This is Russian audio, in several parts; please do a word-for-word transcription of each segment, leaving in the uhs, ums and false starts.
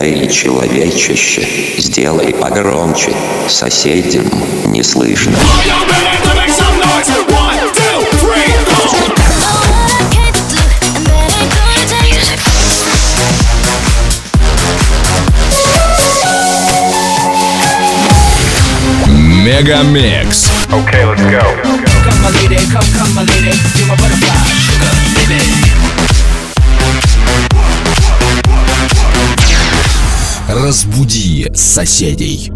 Эй, человечище, сделай погромче, соседям не слышно. Мегамикс. Okay, let's go. Come my lady, come, come my lady, you're my butterfly, sugar, baby. Разбуди соседей.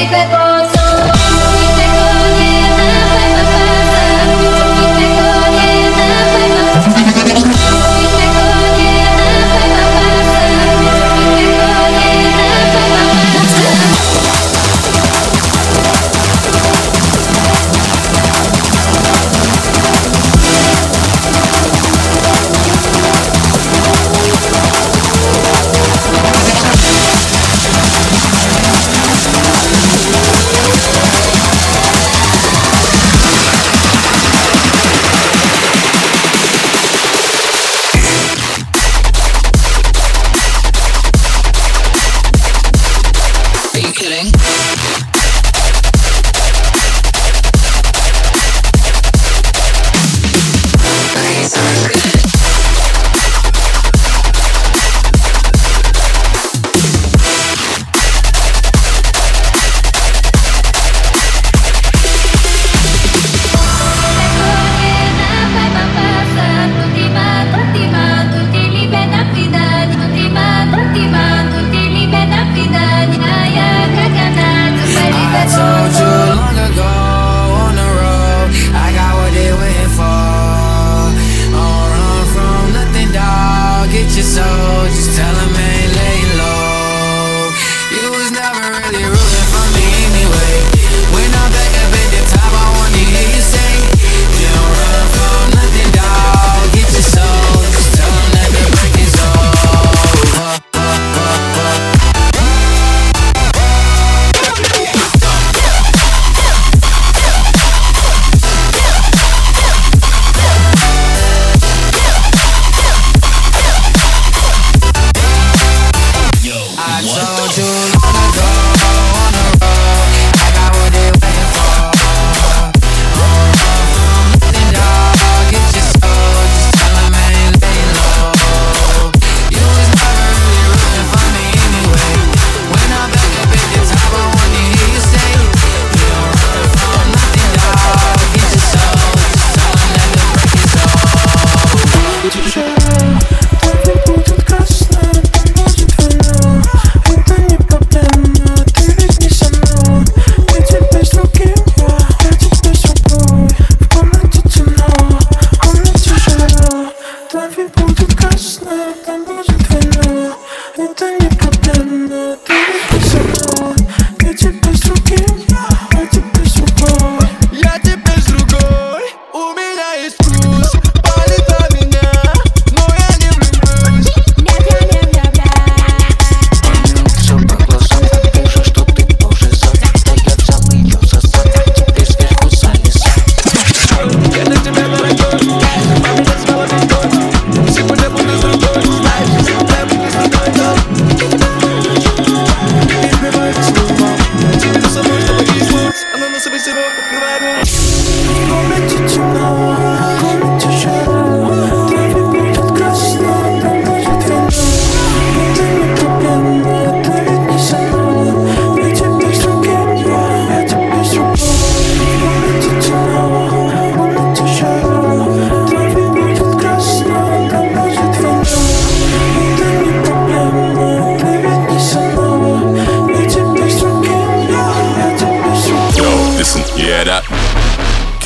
Con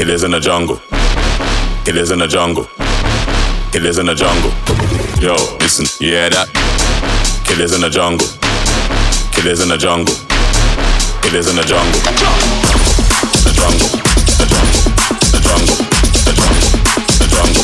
Killers in the jungle. Killers in the jungle. Killers in the jungle. Yo, listen, you hear that? Killers in the jungle. Killers in the jungle. Killers in the jungle. The jungle. The jungle. The jungle. The jungle. The jungle.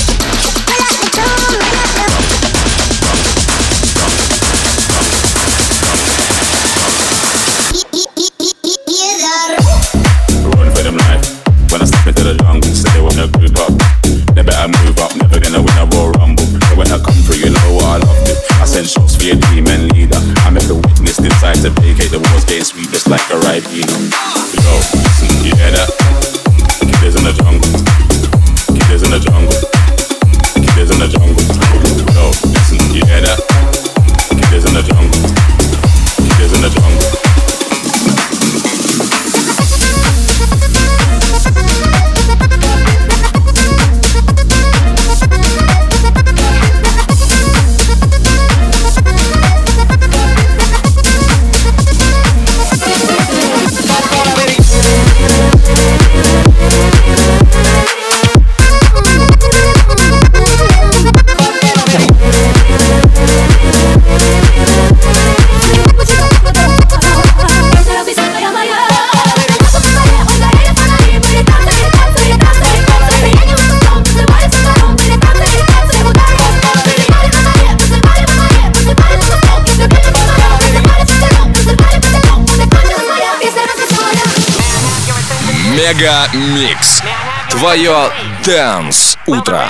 Run for them life. When I step into the jungle, say they wanna group up. They better move up, never gonna win a Royal Rumble. So when I come through, you know what I love to. I send shots for your team and leader. I make the witness decide to vacate the walls, getting sweet just like a ribena. Yo, listen, you hear that? Killers in the jungle. Killers in the jungle. Killers in the jungle. Yo, listen, you hear that? Killers in the jungle. Killers in the jungle. Мега Микс. Твое Dance утро.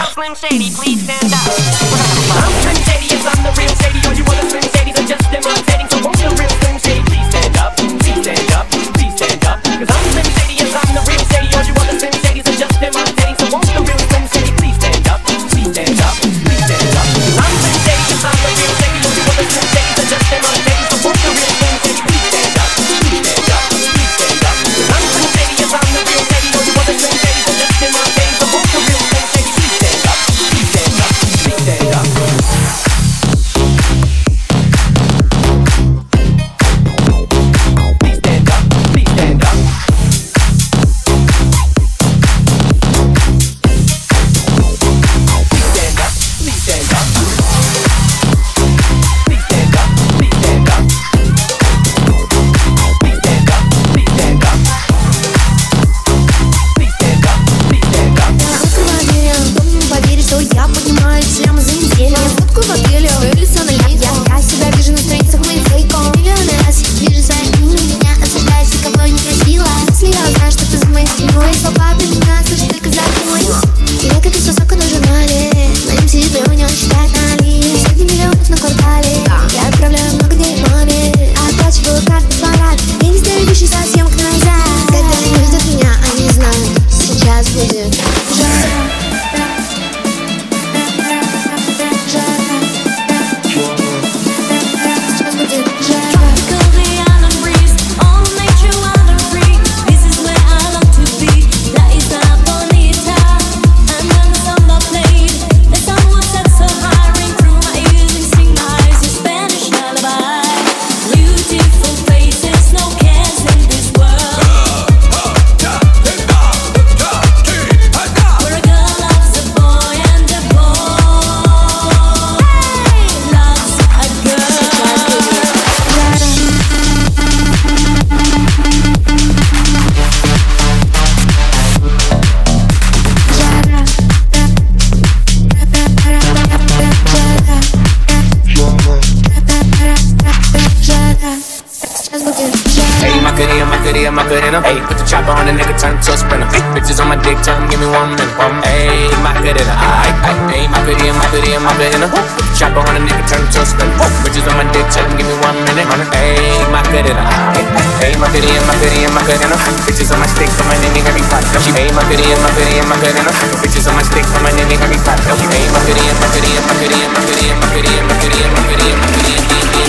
Macarena. Hey, put the chopper on the nigga, turn him to a sprinter. Ay, bitches on my dick, tell him give me one minute. Hey, Macarena. Ay, ay, hey, Macarena, Macarena, Macarena. Put the chopper on the nigga, turn him to a sprinter. Bitches on my dick, tell him give me one minute. Hey, Macarena. Hey, Macarena, Macarena, Macarena. Bitches on my stick, on my nigga, every pot. Hey, Macarena, Macarena, Macarena. Bitches on my stick, on my nigga, every pot. Hey, Macarena, Macarena, Macarena, Macarena, Macarena, Macarena, Macarena, Macarena.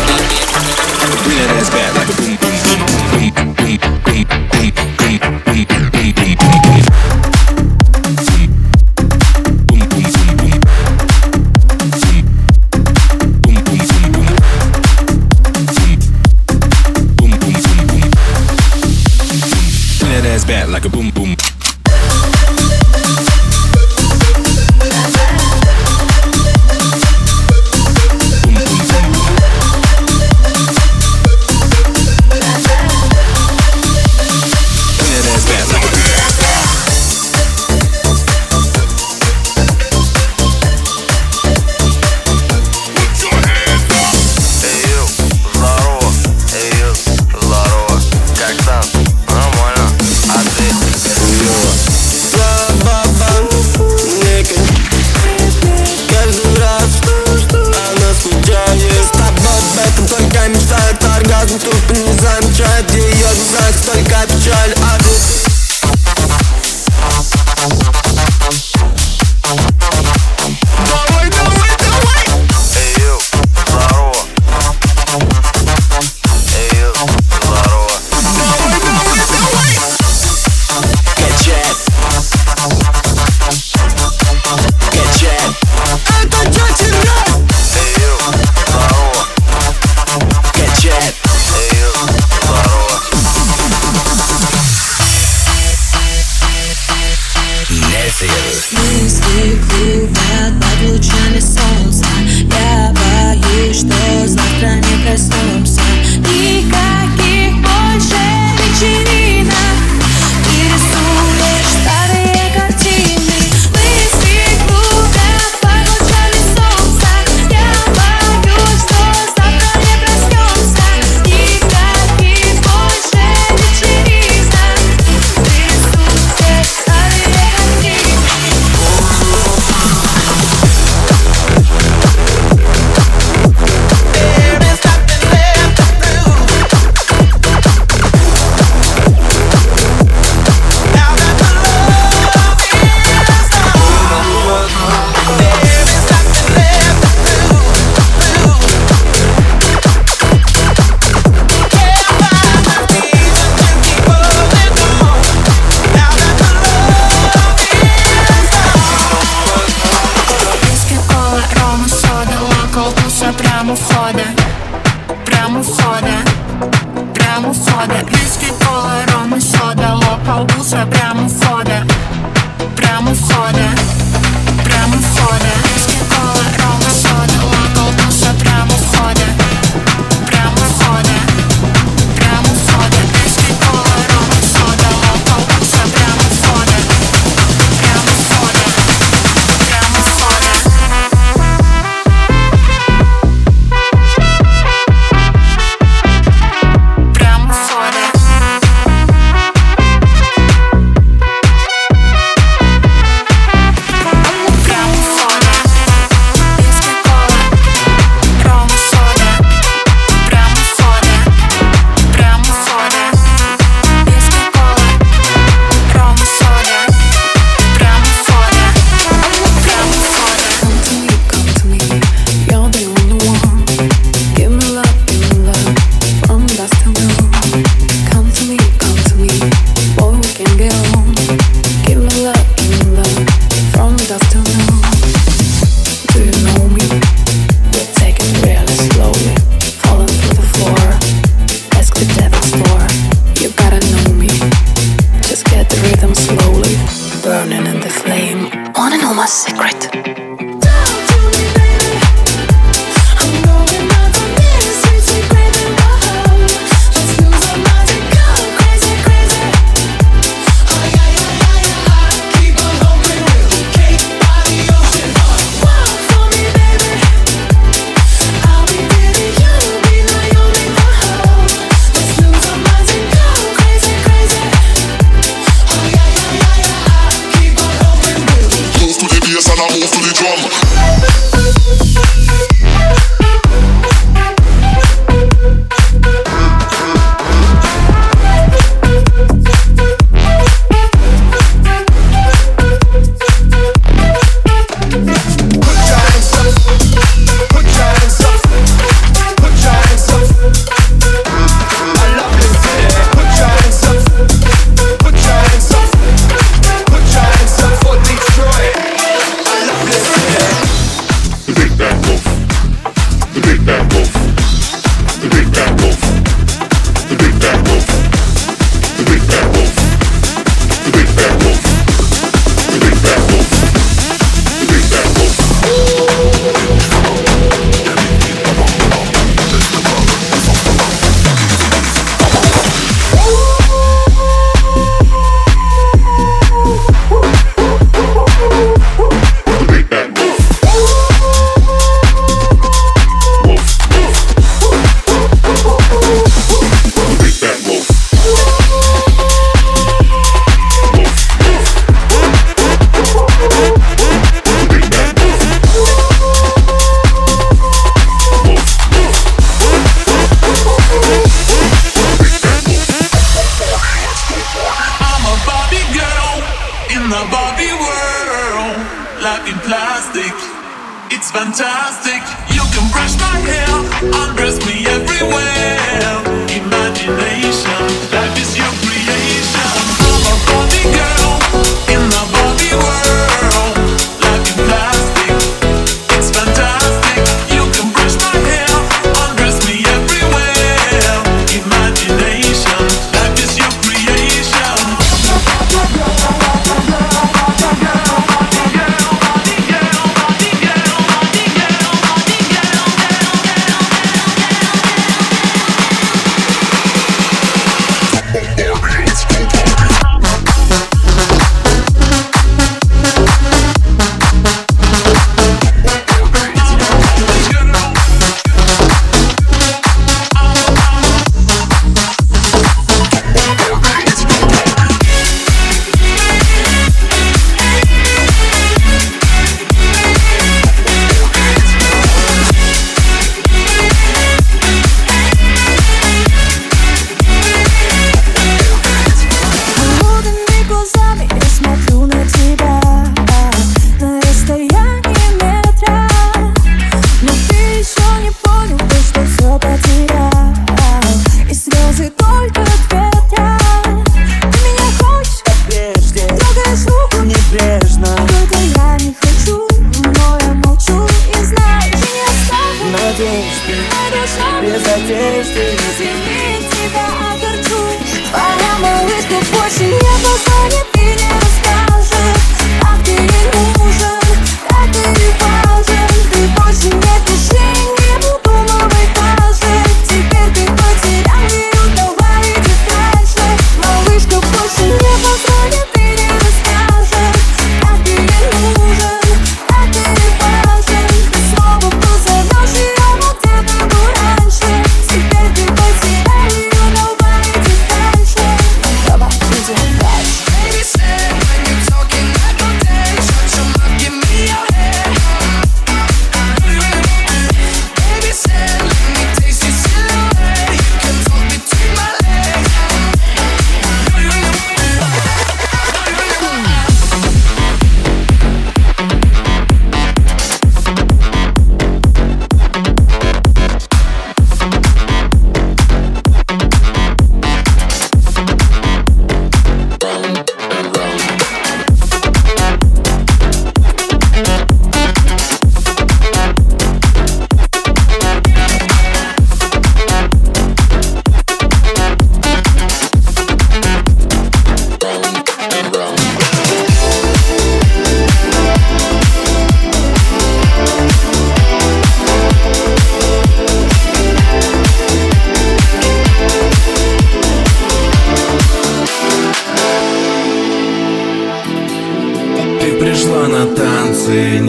Bring that ass back like a boom, boom, boom, boom, boom, boom, boom, boom, boom, boom, boom, boom, boom. Like a boom boom. прямо сода, прямо сода, прямо сода. Виски, кола, ром и сода, локал, буса, прямо сода, прямо сода, прямо сода. Виски, кола, ром и сода, локал, буса, прямо сода, прямо сода, прямо сода. Виски, кола, ром и сода, локал, буса, прямо сода, прямо сода, прямо сода. Прямо сода. Прямо сода. Виски, кола, ром и сода. Прямо сода. Прямо сода. Виски, кола, ром и сода. Прямо сода. Прямо сода. Come to me, come to me, you're the only one. Give me love, give me love, from dusk till dawn. Come to me, come to me, boy, we can get on. Give me love, give me love, from dusk till dawn. Do you know me? We're taking it really slowly, falling through the floor. Ask the devil's door. You gotta know me. Just get the rhythm slowly, burning in the flame. Wanna know my secret? Move to the bass and I move to the drum. The big bad wolf. The big bad wolf. The big bad wolf. The big bad wolf. The big bad wolf. The big bad wolf. The big bad wolf. The big bad wolf. The big bad wolf. Wolf, wolf. The big bad wolf. Wolf, wolf. The big bad wolf. Wolf, wolf. I'm a Barbie girl in the Barbie world. Life in plastic, it's fantastic. You can brush my hair, undress me everywhere. Imagination, life is your creation. I'm a Barbie girl in the Barbie world. Life in plastic, it's fantastic. You can brush my hair, undress me everywhere. Imagination, life is your creation.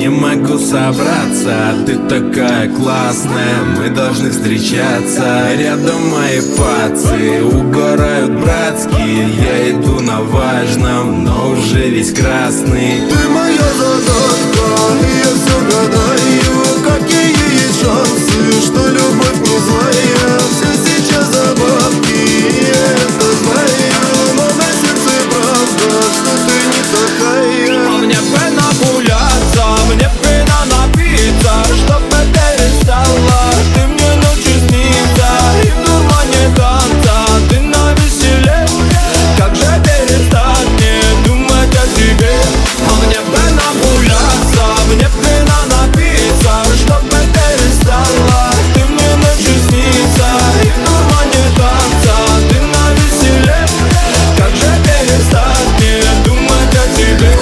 не могу собраться. Ты такая классная, мы должны встречаться. Рядом мои пацы угорают братские. Я иду на важном, но уже весь красный. Ты моя загадка, и я все гадаю, какие есть шансы, что любовь не злая. Все сейчас забавки, я это знаю, но на сердце правда, что ты не такая. Мне бы нагуляться, мне бы напиться, чтоб это перестала. Ты мне ночью снится, и в дурмане танца ты навеселе. Как же перестать мне думать о тебе? Мне бы нагуляться, мне бы напиться, чтоб это перестала. Ты мне ночью снится, и в дурмане танца ты навеселе. Как же перестать мне думать о тебе?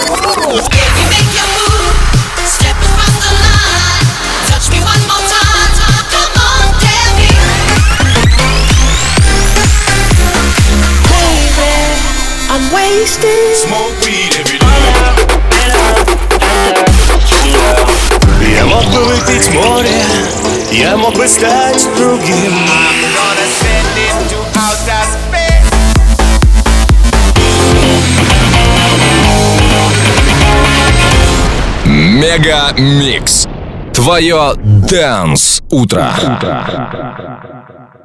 Smoke weed every day. Я мог бы выпить море, я мог бы стать другим. I'm gonna send it to outer space. Мега Микс. Твое Dance утро.